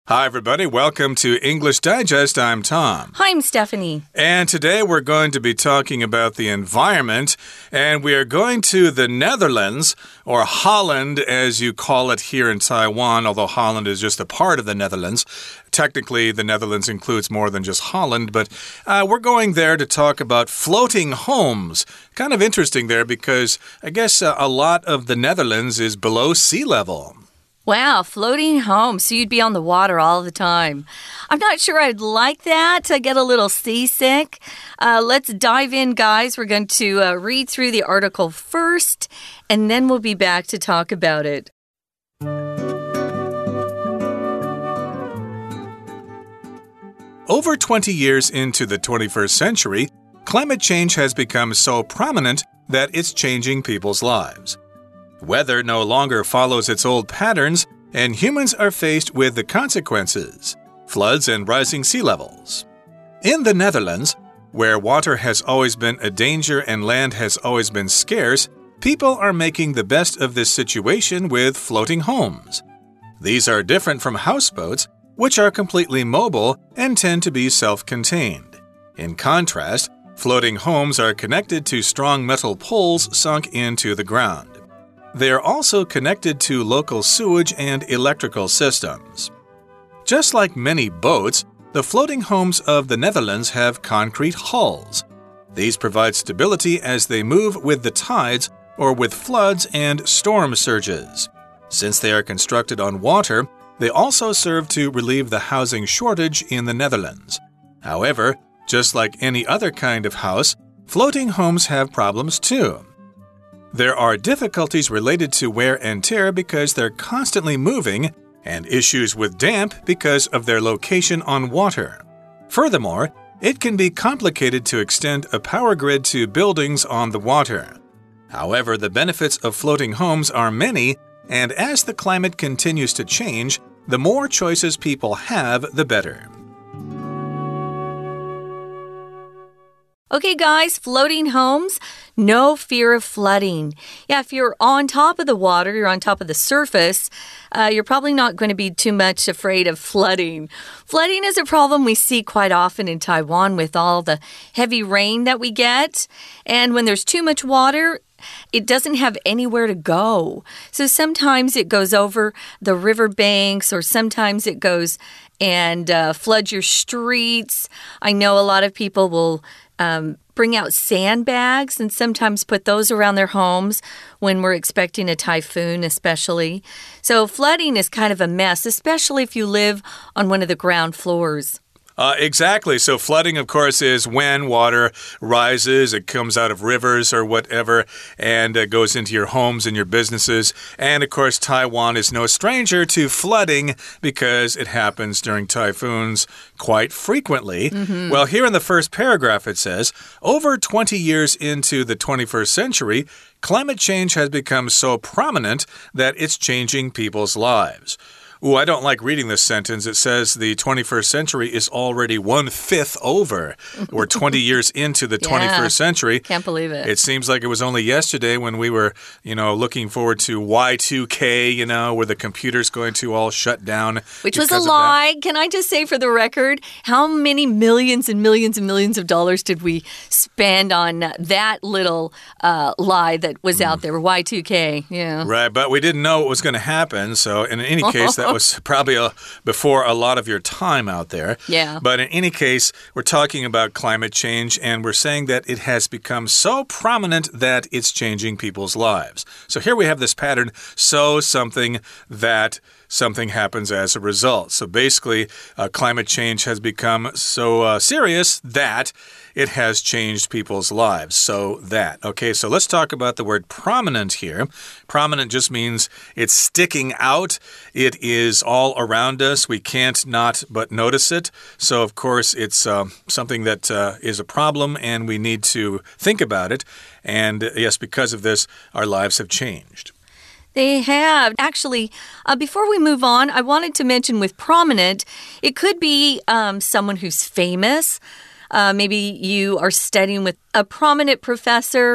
Hi, everybody. Welcome to English Digest. I'm Tom. Hi, I'm Stephanie. And today we're going to be talking about the environment, and we are going to the Netherlands, or Holland, as you call it here in Taiwan, although Holland is just a part of the Netherlands. Technically, the Netherlands includes more than just Holland, but we're going there to talk about floating homes. Kind of interesting there because I guess a lot of the Netherlands is below sea level. Wow, floating home, so you'd be on the water all the time. I'm not sure I'd like that. I get a little seasick. Let's dive in, guys. We're going to read through the article first, and then we'll be back to talk about it. Over 20 years into the 21st century, climate change has become so prominent that it's changing people's lives. Weather no longer follows its old patterns, and humans are faced with the consequences: floods and rising sea levels. In the Netherlands, where water has always been a danger and land has always been scarce, people are making the best of this situation with floating homes. These are different from houseboats, which are completely mobile and tend to be self-contained. In contrast, floating homes are connected to strong metal poles sunk into the ground. They are also connected to local sewage and electrical systems. Just like many boats, the floating homes of the Netherlands have concrete hulls. These provide stability as they move with the tides or with floods and storm surges. Since they are constructed on water, they also serve to relieve the housing shortage in the Netherlands. However, just like any other kind of house, floating homes have problems too. There are difficulties related to wear and tear because they're constantly moving, and issues with damp because of their location on water. Furthermore, it can be complicated to extend a power grid to buildings on the water. However, the benefits of floating homes are many, and as the climate continues to change, the more choices people have, the better. Okay, guys, floating homes, no fear of flooding. Yeah, if you're on top of the water, you're on top of the surface, you're probably not going to be too much afraid of flooding. Flooding is a problem we see quite often in Taiwan with all the heavy rain that we get. And when there's too much water, it doesn't have anywhere to go. So sometimes it goes over the riverbanks, or sometimes it goes and floods your streets. I know a lot of people will bring out sandbags and sometimes put those around their homes when we're expecting a typhoon, especially. So flooding is kind of a mess, especially if you live on one of the ground floors. Exactly. So flooding, of course, is when water rises, it comes out of rivers or whatever, and goes into your homes and your businesses. And, of course, Taiwan is no stranger to flooding because it happens during typhoons quite frequently. Well, here in the first paragraph it says, over 20 years into the 21st century, climate change has become so prominent that it's changing people's lives. Ooh, I don't like reading this sentence. It says the 21st century is already 1/5 over. We're 20 years into the 21st century. Can't believe it. It seems like it was only yesterday when we were, looking forward to Y2K, where the computer's going to all shut down. Which was a lie. Can I just say for the record, how many millions and millions and millions of dollars did we spend on that little lie that was out there, Y2K? Yeah. Right, but we didn't know what was going to happen. So in any case, that was probably before a lot of your time out there. Yeah. But in any case, we're talking about climate change, and we're saying that it has become so prominent that it's changing people's lives. So here we have this pattern, so something that something happens as a result. So basically, climate change has become so serious that it has changed people's lives. So that. Okay, so let's talk about the word prominent here. Prominent just means it's sticking out. It is all around us. We can't not but notice it. So, of course, it's something that is a problem, and we need to think about it. And yes, because of this, our lives have changed. They have. Actually, before we move on, I wanted to mention with prominent, it could be someone who's famous. Maybe you are studying with a prominent professor,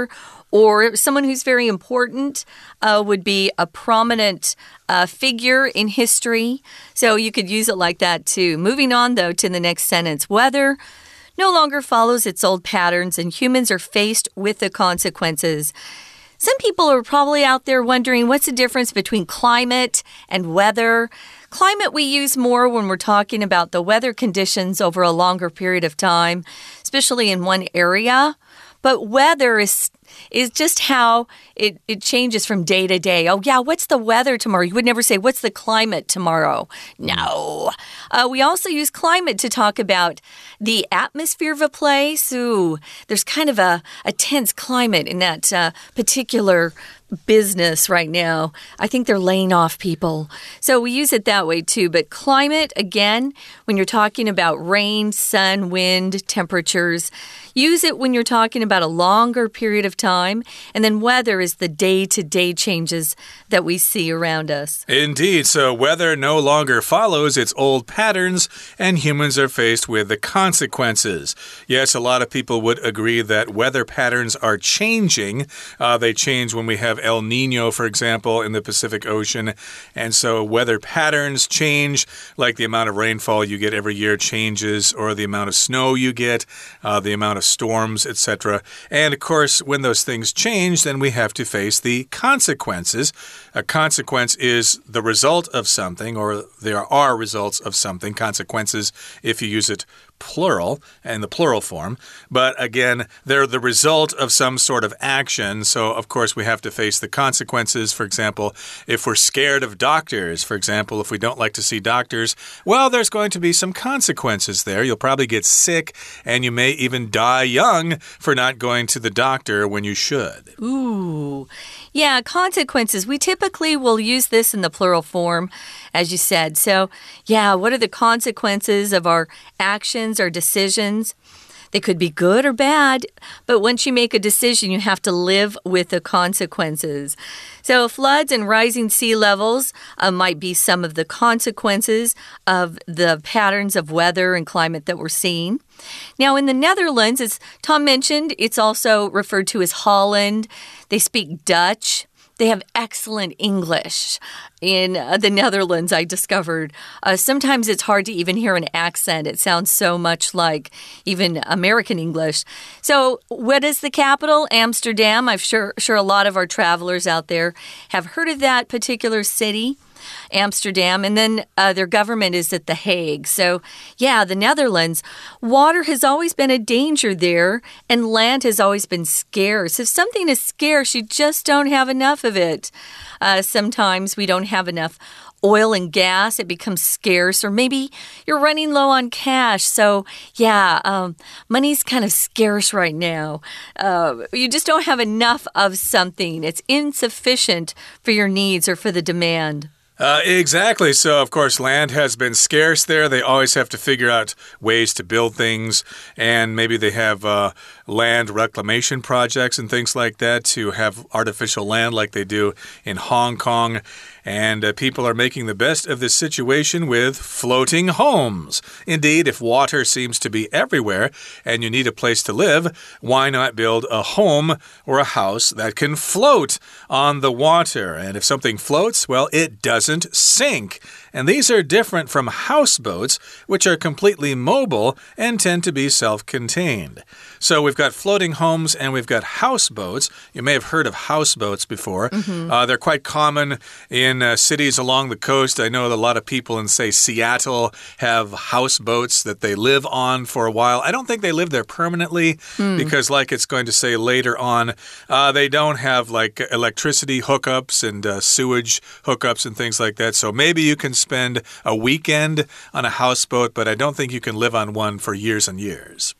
Or someone who's very important would be a prominent figure in history. So you could use it like that too. Moving on, though, to the next sentence. Weather no longer follows its old patterns, and humans are faced with the consequences. Some people are probably out there wondering what's the difference between climate and weather. Climate we use more when we're talking about the weather conditions over a longer period of time, especially in one area. But weather is just how it changes from day to day. Oh, yeah, what's the weather tomorrow? You would never say, what's the climate tomorrow? No. We also use climate to talk about the atmosphere of a place. Ooh, there's kind of a tense climate in that particular business right now. I think they're laying off people. So we use it that way too. But climate, again, when you're talking about rain, sun, wind, temperatures, use it when you're talking about a longer period of time. And then weather is the day-to-day changes that we see around us. Indeed. So weather no longer follows its old patterns, and humans are faced with the consequences. Yes, a lot of people would agree that weather patterns are changing. They change when we have El Nino, for example, in the Pacific Ocean. And so weather patterns change, like the amount of rainfall you get every year changes, or the amount of snow you get, the amount of storms, etc. And of course, when those things change, then we have to face the consequences. A consequence is the result of something, or there are results of something. Consequences, if you use it plural, in the plural form. But again, they're the result of some sort of action. So, of course, we have to face the consequences. For example, if we're scared of doctors, for example, if we don't like to see doctors, well, there's going to be some consequences there. You'll probably get sick, and you may even die young for not going to the doctor when you should. Ooh. Yeah, consequences. We typically will use this in the plural form, as you said. So, yeah, what are the consequences of our actions or decisions? They could be good or bad, but once you make a decision, you have to live with the consequences. So floods and rising sea levels might be some of the consequences of the patterns of weather and climate that we're seeing. Now, in the Netherlands, as Tom mentioned, it's also referred to as Holland. They speak Dutch. They have excellent English in the Netherlands, I discovered. Sometimes it's hard to even hear an accent. It sounds so much like even American English. So what is the capital? Amsterdam. I'm sure a lot of our travelers out there have heard of that particular city. Amsterdam, and then their government is at The Hague. So, yeah, the Netherlands. Water has always been a danger there, and land has always been scarce. If something is scarce, you just don't have enough of it. Sometimes we don't have enough oil and gas, it becomes scarce, or maybe you're running low on cash. So, yeah, money's kind of scarce right now. You just don't have enough of something. It's insufficient for your needs or for the demand. Exactly. So, of course, land has been scarce there. They always have to figure out ways to build things, and maybe they have land reclamation projects and things like that to have artificial land like they do in Hong Kong. And people are making the best of this situation with floating homes. Indeed, if water seems to be everywhere and you need a place to live, why not build a home or a house that can float on the water? And if something floats, well, it doesn't sink. And these are different from houseboats, which are completely mobile and tend to be self-contained. So we've got floating homes and we've got houseboats. You may have heard of houseboats before. They're quite common in cities along the coast. I know that a lot of people in, say, Seattle have houseboats that they live on for a while. I don't think they live there permanently because, like it's going to say later on, they don't have like electricity hookups and sewage hookups and things like that. So maybe you can spend a weekend on a houseboat, but I don't think you can live on one for years and years.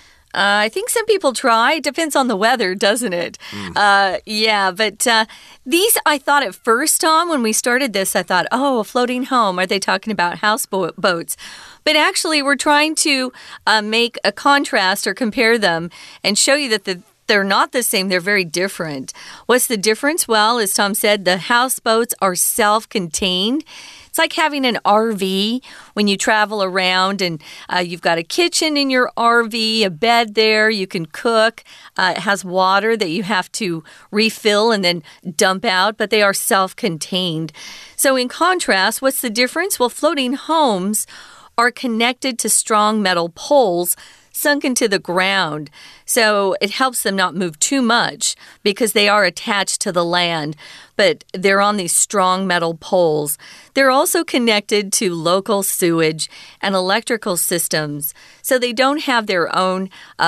I think some people try. It depends on the weather, doesn't it? Yeah, but these, I thought at first, Tom, when we started this, I thought, oh, a floating home. Are they talking about houseboats? But actually, we're trying to make a contrast or compare them and show you that they're not the same. They're very different. What's the difference? Well, as Tom said, the houseboats are self-contained. It's like having an RV when you travel around and you've got a kitchen in your RV, a bed there, you can cook. It has water that you have to refill and then dump out, but they are self-contained. So in contrast, what's the difference? Well, floating homes are connected to strong metal poles sunk into the ground. So it helps them not move too much because they are attached to the land, but they're on these strong metal poles. They're also connected to local sewage and electrical systems, so they don't have their own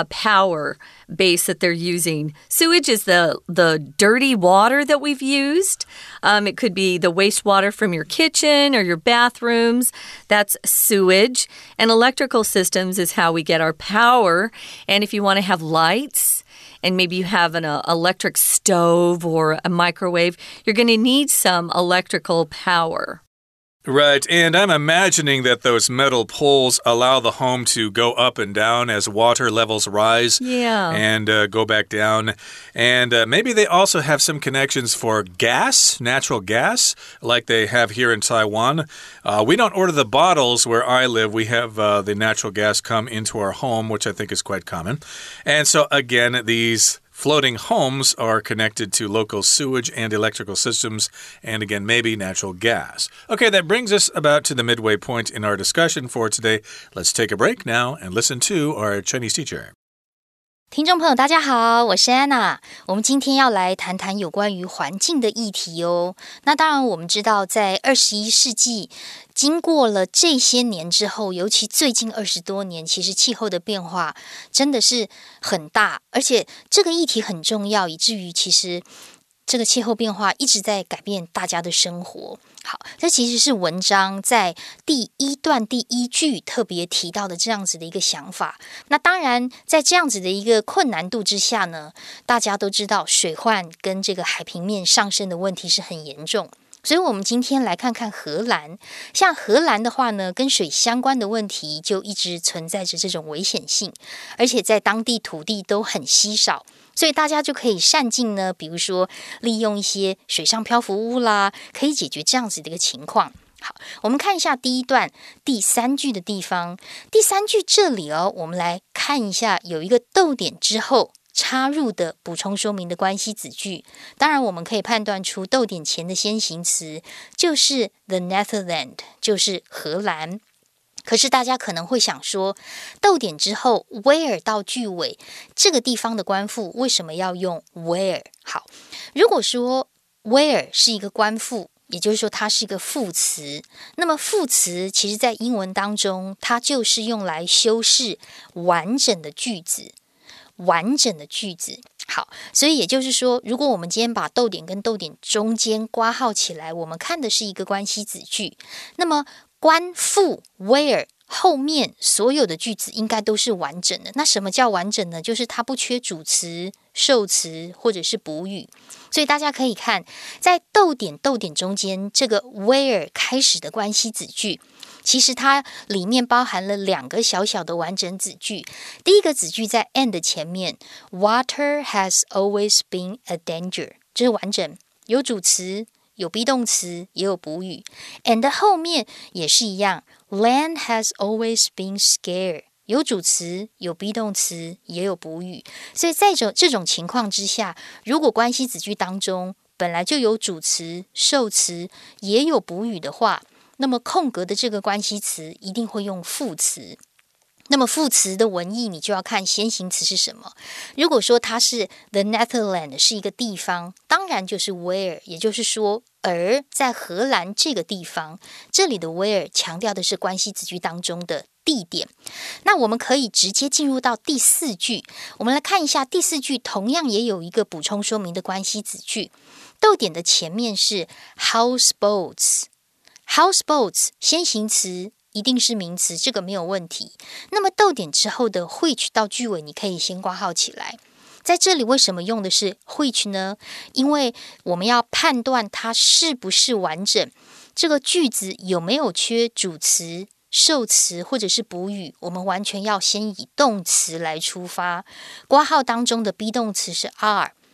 power base that they're using. Sewage is the dirty water that we've used. It could be the wastewater from your kitchen or your bathrooms. That's sewage. And electrical systems is how we get our power. And if you want to have lights, and maybe you have an electric stove or a microwave, you're going to need some electrical power. Right, and I'm imagining that those metal poles allow the home to go up and down as water levels rise. Yeah. And go back down. And maybe they also have some connections for gas, natural gas, like they have here in Taiwan. We don't order the bottles where I live. We have the natural gas come into our home, which I think is quite common. And so, again, these floating homes are connected to local sewage and electrical systems, and again, maybe natural gas. Okay, that brings us about to the midway point in our discussion for today. Let's take a break now and listen to our Chinese teacher. 听众朋友大家好，我是安娜。我们今天要来谈谈有关于环境的议题哦。那当然我们知道在21世纪经過了這些年之後，尤其最近20多年，其實氣候的變化真的是很大，而且這個議題很重要，以至於其實這個氣候變化一直在改變大家的生活。好，這其實是文章在第一段第一句特別提到的這樣子的一個想法。那當然在這樣子的一個困難度之下呢，大家都知道水患跟這個海平面上升的問題是很嚴重。所以我們今天來看看荷蘭。像荷蘭的話呢，跟水相關的問題就一直存在着這種危險性，而且在當地土地都很稀少，所以大家就可以善盡呢，比如說利用一些水上漂浮物啦，可以解決這樣子的一個情況。好，我們看一下第一段第3句的地方。第3句這裡哦，我們來看一下，有一個逗點之後插入的補充說明的關係子句。當然我們可以判斷出逗點前的先行詞就是 the Netherlands， 就是荷蘭。可是大家可能會想說，逗點之後 where 到句尾，這個地方的關複為什麼要用 where？ 好，如果說 where 是一個關複，也就是說它是一個副詞，那麼副詞其實在英文當中，它就是用來修飾完整的句子。完整的句子。好，所以也就是說，如果我們今天把逗點跟逗點中間括號起來，我們看的是一個關係子句，那麼關複 where 後面所有的句子應該都是完整的。那什麼叫完整呢？就是它不缺主詞、受詞或者是補語。所以大家可以看，在逗點中間這個 where 開始的關係子句，其實它裡面包含了2個小小的完整子句。第一個子句在 and 前面 Water has always been a danger， 這是完整，有主詞，有 be 動詞，也有補語。and 後面也是一樣， Land has always been scared， 有主詞，有 be 動詞，也有補語。所以在這種情況之下，如果關係子句當中本來就有主詞、受詞，也有補語的話，那麼空格的這個關係詞一定會用副詞。那麼副詞的文意你就要看先行詞是什麼。如果說它是 the Netherlands 是一個地方，當然就是 where， 也就是說而在荷蘭這個地方，這裡的 where 強調的是關係子句當中的地點。那我們可以直接進入到第4句，我們來看一下第4句同樣也有一個補充說明的關係子句。逗點的前面是 houseboats， houseboats 先行詞一定是名詞，這個沒有問題。那麼逗點之後的 which 到句尾你可以先括號起來。在這裡為什麼用的是 which 呢？因為我們要判斷它是不是完整，這個句子有沒有缺主詞、受詞或者是補語，我們完全要先以動詞來出發。括號當中的 be 動詞是 are。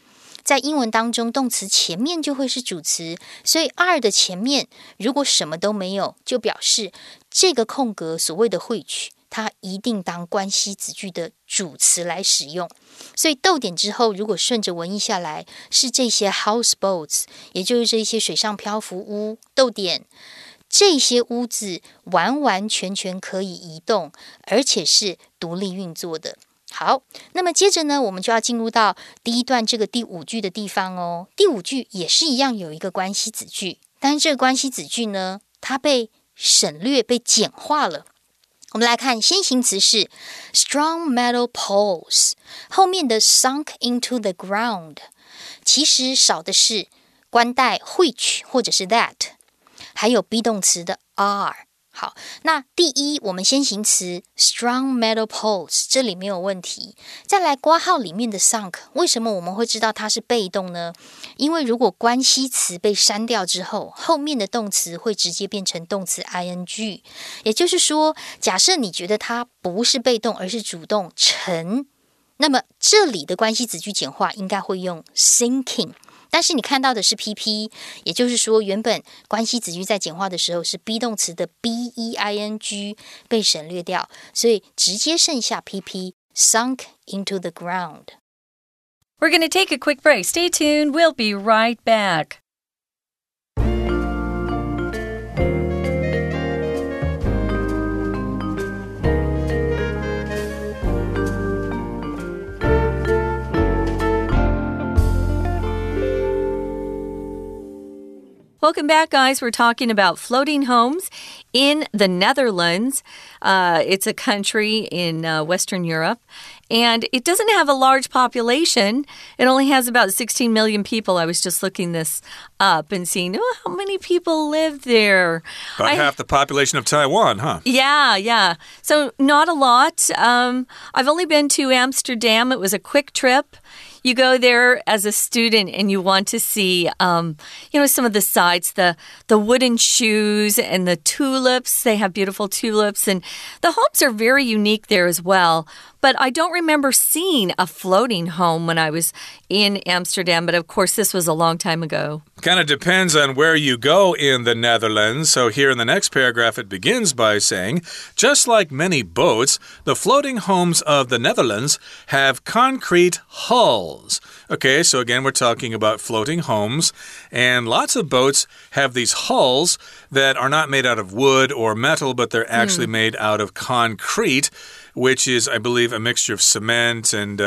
在英文當中，動詞前面就會是主詞，所以 are 的前面如果什麼都沒有，就表示這個空格所謂的which，它一定當關係子句的主詞來使用。所以逗點之後，如果順着文意下來，是這些 houseboats， 也就是這些水上漂浮屋，逗點。這些屋子完完全全可以移動，而且是獨立運作的。好，那麼接着呢，我們就要進入到第一段這個第五句的地方哦。第五句也是一樣有一個關係子句，但是這個關係子句呢，它被省略、被簡化了。我們來看先行詞是 strong metal poles， 後面的 sunk into the ground， 其實少的是關帶 which 或者是 that， 還有 be 動詞的 are。好，那第一，我們先行詞 strong metal poles 這裡沒有問題。再來括號裡面的 sunk， 為什麼我們會知道它是被動呢？因為如果關係詞被刪掉之後，後面的動詞會直接變成動詞 ing。也就是說，假設你覺得它不是被動，而是主動沉，那麼這裡的關係子句簡化應該會用 sinking。但是你看到的是 PP， 也就是說原本關係子句在簡化的時候是 be 動詞的 BEING 被省略掉，所以直接剩下 PP sunk into the ground. We're going to take a quick break. Stay tuned. We'll be right back. Welcome back, guys. We're talking about floating homes in the Netherlands. It's a country in Western Europe, and it doesn't have a large population. It only has about 16 million people. I was just looking this up and seeing how many people live there. About half the population of Taiwan, huh? Yeah. So not a lot. I've only been to Amsterdam. It was a quick trip. You go there as a student and you want to see, some of the sights, the wooden shoes and the tulips. They have beautiful tulips, and the homes are very unique there as well. But I don't remember seeing a floating home when I was in Amsterdam. But of course, this was a long time ago. Kind of depends on where you go in the Netherlands. So here in the next paragraph, it begins by saying, just like many boats, the floating homes of the Netherlands have concrete hulls. Okay, so again, we're talking about floating homes. And lots of boats have these hulls that are not made out of wood or metal, but they're actually made out of concrete, which is, I believe, a mixture of cement and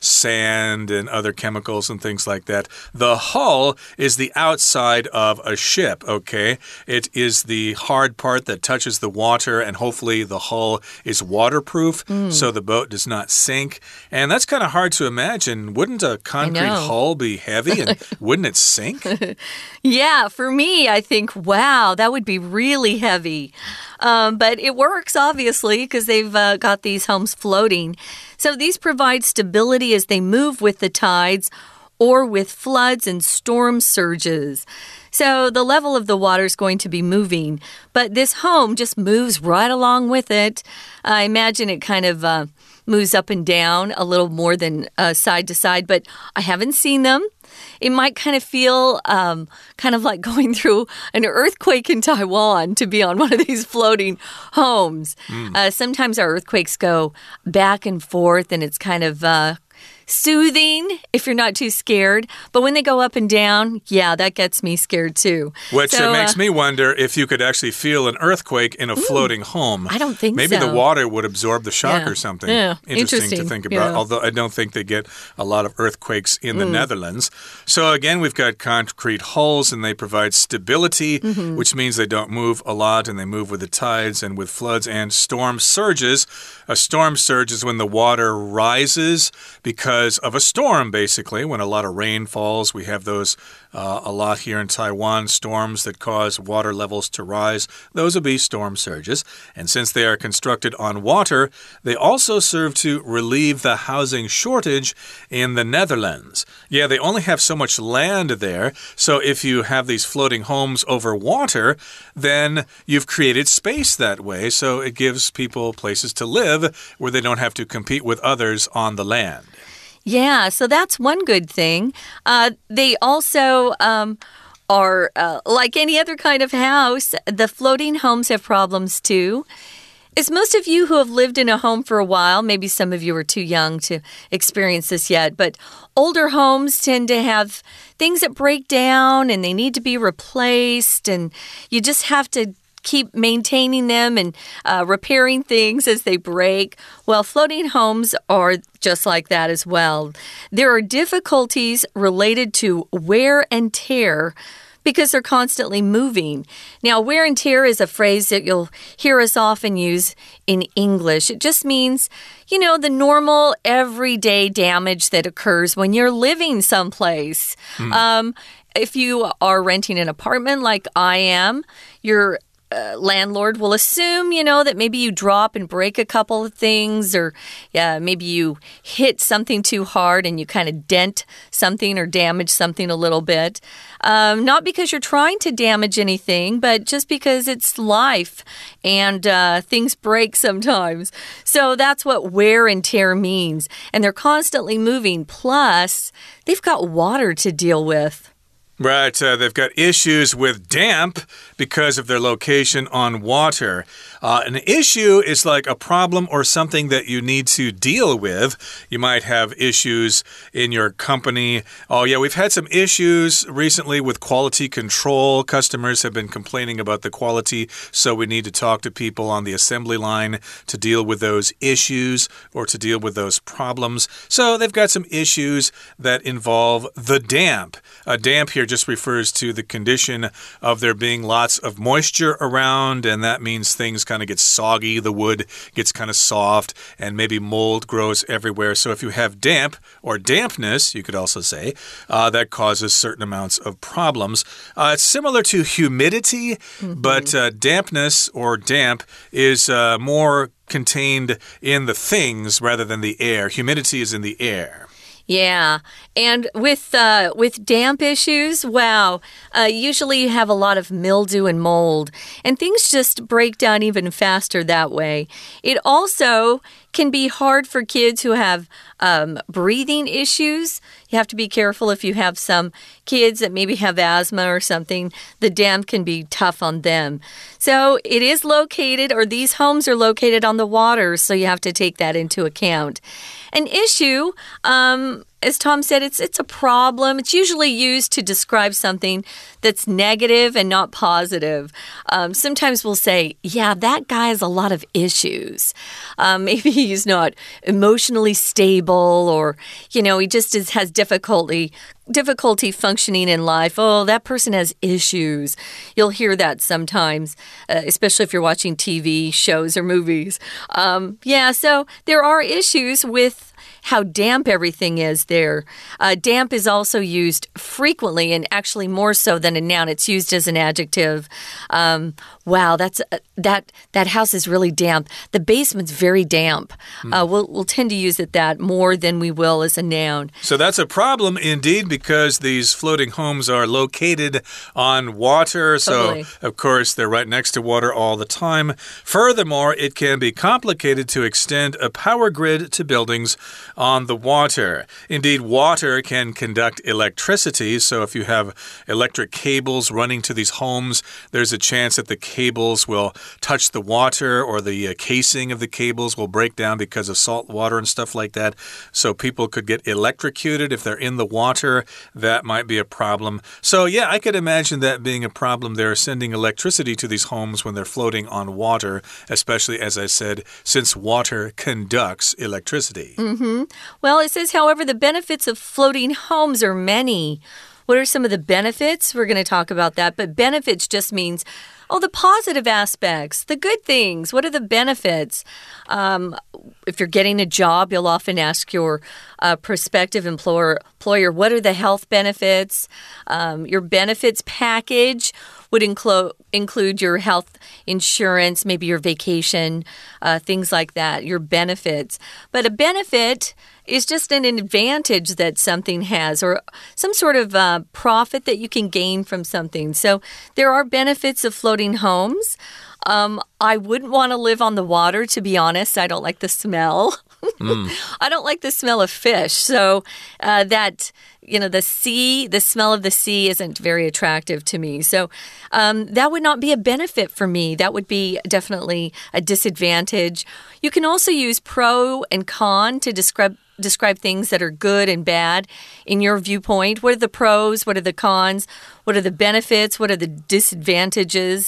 sand and other chemicals and things like that. The hull is the outside of a ship, okay? It is the hard part that touches the water, and hopefully the hull is waterproof, so the boat does not sink. And that's kind of hard to imagine. Wouldn't a concrete hull be heavy, and wouldn't it sink? Yeah, for me, I think, wow, that would be really heavy. But it works, obviously, because they've got these homes floating. So these provide stability as they move with the tides or with floods and storm surges. So the level of the water is going to be moving, but this home just moves right along with it. I imagine it kind of moves up and down a little more than side to side, but I haven't seen them. It might kind of feel kind of like going through an earthquake in Taiwan to be on one of these floating homes. Sometimes our earthquakes go back and forth, and it's kind of soothing if you're not too scared. But when they go up and down, yeah, that gets me scared too. Which makes me wonder if you could actually feel an earthquake in a floating home. I don't think Maybe so. the water would absorb the shock or something. Yeah. Interesting to think about, although I don't think they get a lot of earthquakes in the Netherlands. So again, we've got concrete hulls, and they provide stability, which means they don't move a lot, and they move with the tides and with floods and storm surges. A storm surge is when the water rises because of a storm, basically. When a lot of rain falls, we have those a lot here in Taiwan, storms that cause water levels to rise. Those would be storm surges. And since they are constructed on water, they also serve to relieve the housing shortage in the Netherlands. Yeah, they only have so much land there, so if you have these floating homes over water, then you've created space that way, so it gives people places to live where they don't have to compete with others on the land. Yeah, so that's one good thing. They also are like any other kind of house, the floating homes have problems too. As most of you who have lived in a home for a while, maybe some of you are too young to experience this yet, but older homes tend to have things that break down and they need to be replaced, and you just have to keep maintaining them and repairing things as they break. Well, floating homes are just like that as well. There are difficulties related to wear and tear because they're constantly moving. Now, wear and tear is a phrase that you'll hear us often use in English. It just means, you know, the normal everyday damage that occurs when you're living someplace. If you are renting an apartment like I am, your landlord will assume, you know, that maybe you drop and break a couple of things, or maybe you hit something too hard and you kind of dent something or damage something a little bit. Not because you're trying to damage anything, but just because it's life and things break sometimes. So that's what wear and tear means. And they're constantly moving. Plus, they've got water to deal with. Right, they've got issues with damp because of their location on water. An issue is like a problem or something that you need to deal with. You might have issues in your company. Oh, yeah, we've had some issues recently with quality control. Customers have been complaining about the quality, so we need to talk to people on the assembly line to deal with those issues or to deal with those problems. So they've got some issues that involve the damp. Damp here just refers to the condition of there being lots of moisture around, and that means things kind of get soggy, the wood gets kind of soft, and maybe mold grows everywhere. So if you have damp or dampness, you could also say, that causes certain amounts of problems. It's similar to humidity, but dampness or damp is more contained in the things rather than the air. Humidity is in the air. Yeah, and with damp issues, wow, usually you have a lot of mildew and mold, and things just break down even faster that way. It also can be hard for kids who have breathing issues. You have to be careful if you have some kids that maybe have asthma or something. The damp can be tough on them. So it is located, or these homes are located on the water, so you have to take that into account. An issue, as Tom said, it's a problem. It's usually used to describe something that's negative and not positive. Sometimes we'll say, yeah, that guy has a lot of issues. Maybe he's not emotionally stable, or, you know, he just has difficulty functioning in life. Oh, that person has issues. You'll hear that sometimes, especially if you're watching TV shows or movies. Yeah, so there are issues with how damp everything is there. Damp is also used frequently, and actually more so than a noun. It's used as an adjective. Wow, that house is really damp. The basement's very damp. We'll tend to use it that more than we will as a noun. So that's a problem indeed, because these floating homes are located on water. Totally. So, of course, they're right next to water all the time. Furthermore, it can be complicated to extend a power grid to buildings on the water. Indeed, water can conduct electricity. So if you have electric cables running to these homes, there's a chance that the cables will touch the water, or the casing of the cables will break down because of salt water and stuff like that. So people could get electrocuted if they're in the water. That might be a problem. So yeah, I could imagine that being a problem. They're sending electricity to these homes when they're floating on water, especially, as I said, since water conducts electricity. Well, it says, however, the benefits of floating homes are many. What are some of the benefits? We're going to talk about that. But benefits just means, oh, the positive aspects, the good things. What are the benefits? If you're getting a job, you'll often ask your prospective employer, what are the health benefits? Your benefits package would include your health insurance, maybe your vacation, things like that, your benefits. But a benefit is just an advantage that something has, or some sort of profit that you can gain from something. So there are benefits of floating homes. I wouldn't want to live on the water, to be honest. I don't like the smell. I don't like the smell of fish. So the smell of the sea isn't very attractive to me. So that would not be a benefit for me. That would be definitely a disadvantage. You can also use pro and con to describe things that are good and bad in your viewpoint. What are the pros? What are the cons? What are the benefits? What are the disadvantages?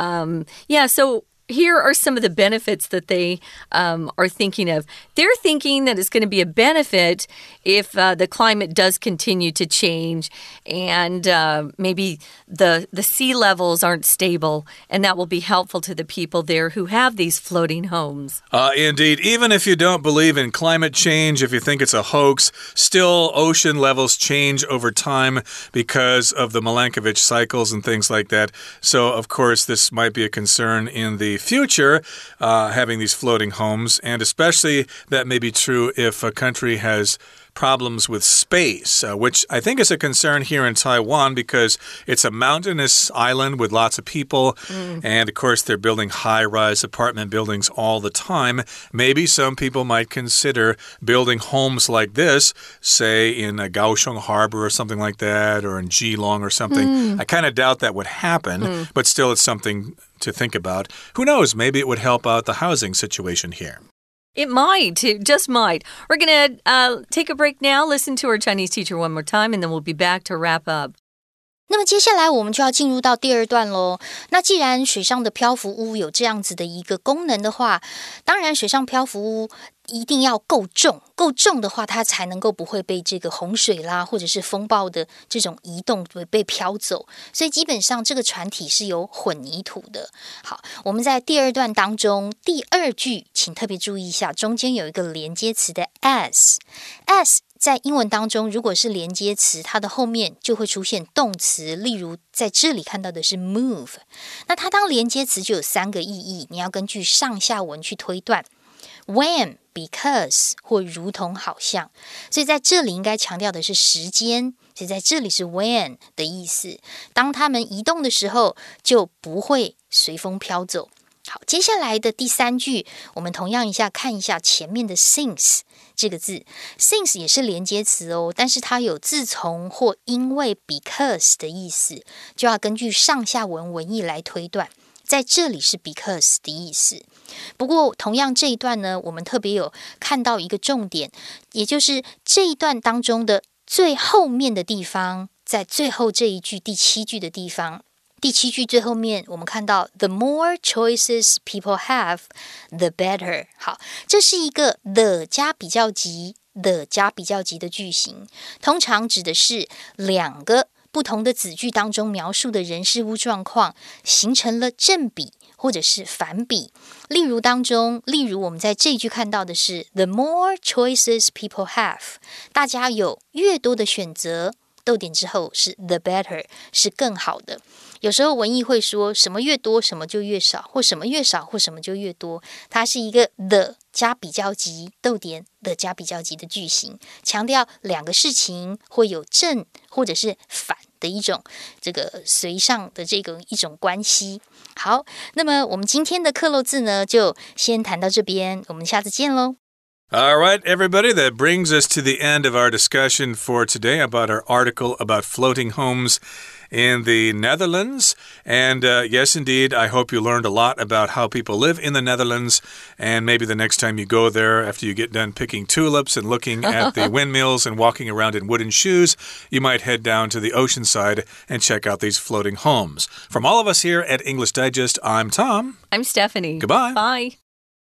So here are some of the benefits that they are thinking of. They're thinking that it's going to be a benefit if the climate does continue to change and maybe the sea levels aren't stable, and that will be helpful to the people there who have these floating homes. Indeed. Even if you don't believe in climate change, if you think it's a hoax, still ocean levels change over time because of the Milankovitch cycles and things like that. So, of course, this might be a concern in the future, having these floating homes, and especially that may be true if a country has problems with space, which I think is a concern here in Taiwan because it's a mountainous island with lots of people, and of course they're building high-rise apartment buildings all the time. Maybe some people might consider building homes like this, say in Kaohsiung Harbor or something like that, or in Geelong or something. I kind of doubt that would happen, but still it's something to think about. Who knows? Maybe it would help out the housing situation here. It might. It just might. We're going to take a break now, listen to our Chinese teacher one more time, and then we'll be back to wrap up. 那么接下来我们就要进入到第二段咯。那既然水上的漂浮屋有这样子的一个功能的话，当然水上漂浮屋一定要够重，够重的话它才能够不会被这个洪水啦或者是风暴的这种移动被飘走，所以基本上这个船体是有混凝土的。好，我们在第二段当中第二句请特别注意一下，中间有一个连接詞的 as 在英文当中如果是连接詞，它的後面就會出現動詞，例如在這裡看到的是 move， 那它當連接詞就有三個意義，你要根據上下文去推斷， when because 或如同好像，所以在這裡應該強調的是時間，所以在這裡是 when 的意思，當他們移動的時候就不會隨風飄走。好，接下來的第三句我們同樣看一下前面的 since 這個字， since 也是連接詞哦，但是它有自從或因為 because 的意思，就要根據上下文文意來推斷，在這裡是 because 的意思。不過同樣這一段呢，我們特別有看到一個重點，也就是這一段當中的最後面的地方，在最後這一句第七句的地方，第七句最後面我們看到 The more choices people have, the better。 好，這是一個 the 加比較級 the 加比較級的句型，通常指的是兩個不同的子句當中描述的人事物狀況形成了正比或者是反比。例如我們在這一句看到的是 The more choices people have， 大家有越多的選擇，逗點之後是 the better， 是更好的。有時候文意會說什麼越多什麼就越少，或什麼越少或什麼就越多，它是一個 the 加比較級逗點 the 加比較級的句型，強調兩個事情會有正或者是反的一種這個隨上的這個一種關係。好，那麼我們今天的課漏字呢就先談到這邊，我們下次見咯。 All right, everybody, that brings us to the end of our discussion for today about our article about floating homes in the Netherlands. And yes, indeed, I hope you learned a lot about how people live in the Netherlands. And maybe the next time you go there, after you get done picking tulips and looking at the windmills and walking around in wooden shoes, you might head down to the ocean side and check out these floating homes. From all of us here at English Digest, I'm Tom. I'm Stephanie. Goodbye. Bye.